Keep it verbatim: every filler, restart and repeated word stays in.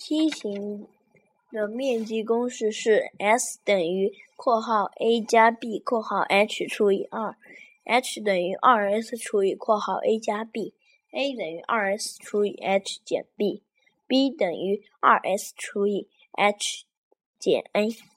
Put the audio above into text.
梯形的面积公式是 S 等于括号 a 加 b 括号 h 除以二 ，h 等于 二 s 除以括号 a 加 b，a 等于 二 s 除以 h 减 b，b 等于 二 s 除以 h 减 a。